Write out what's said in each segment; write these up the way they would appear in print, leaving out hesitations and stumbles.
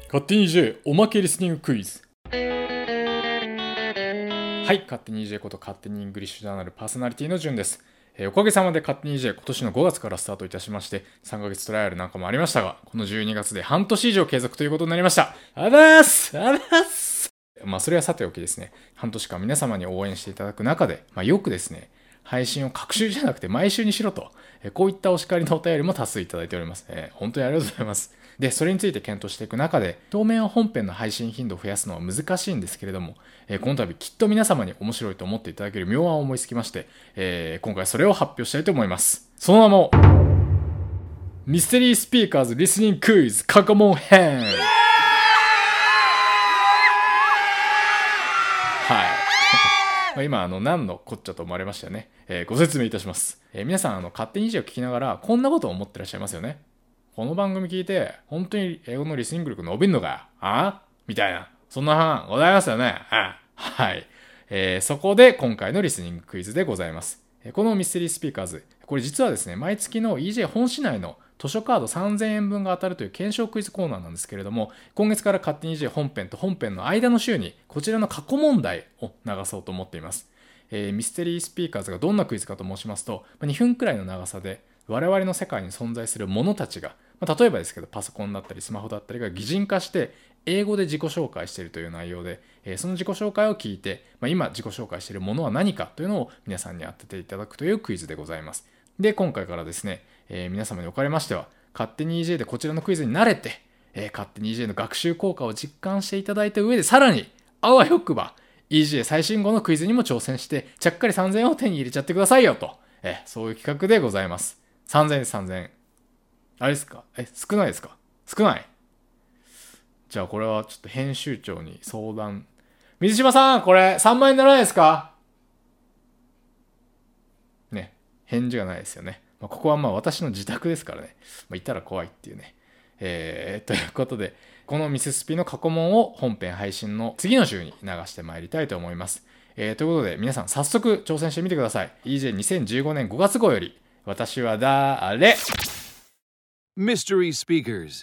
勝手に EJ おまけリスニングクイズ。はい、勝手に EJ こと勝手にイングリッシュジャーナルパーソナリティのじゅんです。おかげさまで勝手に EJ 今年の5月からスタートいたしまして、3ヶ月トライアルなんかもありましたが、この12月で半年以上継続ということになりました。あざーす。それはさておきですね、半年間皆様に応援していただく中で、よくですね、配信を各週じゃなくて毎週にしろと、こういったお叱りのお便りも多数いただいております。本当にありがとうございます。で、それについて検討していく中で、当面は本編の配信頻度を増やすのは難しいんですけれども、この度きっと皆様に面白いと思っていただける妙案を思いつきまして、今回それを発表したいと思います。その名も、ミステリースピーカーズリスニングクイズ過去問編。はい。今何のこっちゃと思われましたよね。ご説明いたします。皆さん勝手にEJを聞きながらこんなことを思ってらっしゃいますよね。この番組聞いて本当に英語のリスニング力伸びんのかみたいな、そんな話ございますよね。はい。そこで今回のリスニングクイズでございます。このミステリースピーカーズ、これ実はですね、毎月の EJ 本市内の図書カード3000円分が当たるという検証クイズコーナーなんですけれども、今月から勝手に EJ 本編と本編の間の週にこちらの過去問題を流そうと思っています。ミステリースピーカーズがどんなクイズかと申しますと、2分くらいの長さで我々の世界に存在するものたちが、例えばですけどパソコンだったりスマホだったりが擬人化して英語で自己紹介しているという内容で、その自己紹介を聞いて、今自己紹介しているものは何かというのを皆さんに当てていただくというクイズでございます。で、今回からですね、皆様におかれましては勝手に EJ でこちらのクイズに慣れて、勝手に EJ の学習効果を実感していただいた上で、さらにあわよくば EJ 最新号のクイズにも挑戦してちゃっかり3000円を手に入れちゃってくださいよと、そういう企画でございます。3000円です。3000円あれですか？少ないですか？少ない？じゃあこれはちょっと編集長に相談。水島さん、これ3万円ならないですか？ね、返事がないですよね。ここは私の自宅ですからね。いたら怖いっていうね。ということで、このミススピの過去問を本編配信の次の週に流してまいりたいと思います。ということで、皆さん早速挑戦してみてください。EJ2015 年5月号より、私は誰 ？Mystery Speakers.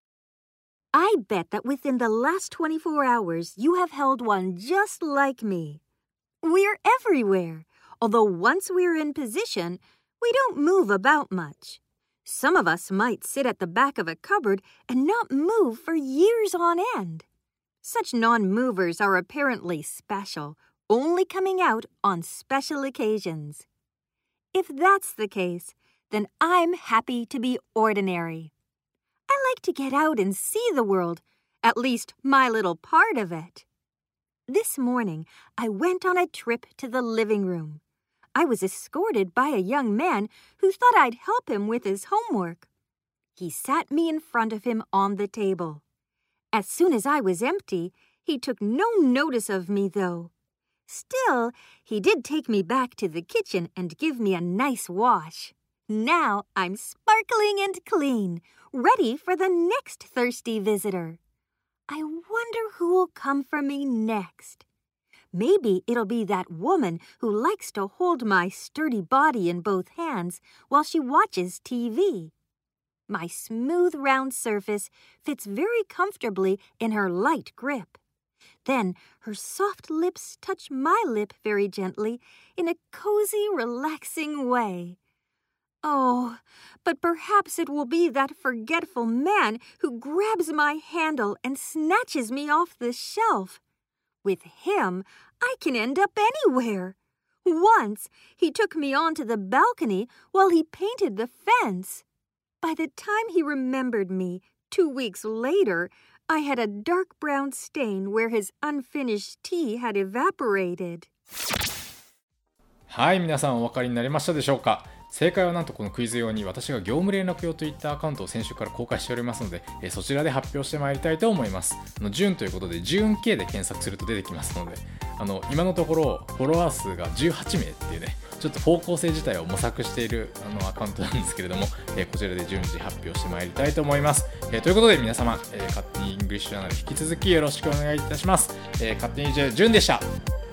I bet that within the last 24 hours you have held one just like me. We're everywhere, although once we're in position, we don't move about much. Some of us might sit at the back of a cupboard and not move for years on end. Such non-movers are apparently special, only coming out on special occasions. If that's the case, then I'm happy to be ordinary. I like to get out and see the world, at least my little part of it. This morning, I went on a trip to the living room. I was escorted by a young man who thought I'd help him with his homework. He sat me in front of him on the table. As soon as I was empty, he took no notice of me, though. Still, he did take me back to the kitchen and give me a nice wash. Now I'm sparkling and clean, ready for the next thirsty visitor. I wonder who will come for me next. Maybe it'll be that woman who likes to hold my sturdy body in both hands while she watches TV. My smooth round surface fits very comfortably in her light grip. Then her soft lips touch my lip very gently in a cozy, relaxing way.Oh, but perhaps it will be that forgetful man who grabs my handle and snatches me off the shelf. With him, I can end up anywhere. Once, he took me onto the balcony while he painted the fence. By the time he remembered me, 2 weeks later, I had a dark brown stain where his unfinished tea had evaporated. はい、皆さんお分かりになりましたでしょうか？正解はなんとこのクイズ用に私が業務連絡用といったアカウントを先週から公開しておりますので、そちらで発表してまいりたいと思います。ジュンということでジューン K で検索すると出てきますので、今のところフォロワー数が18名っていうね、ちょっと方向性自体を模索しているアカウントなんですけれども、こちらで順次発表してまいりたいと思います。ということで皆様、勝手にイングリッシュジャーナル引き続きよろしくお願いいたします。勝手にジュンでした。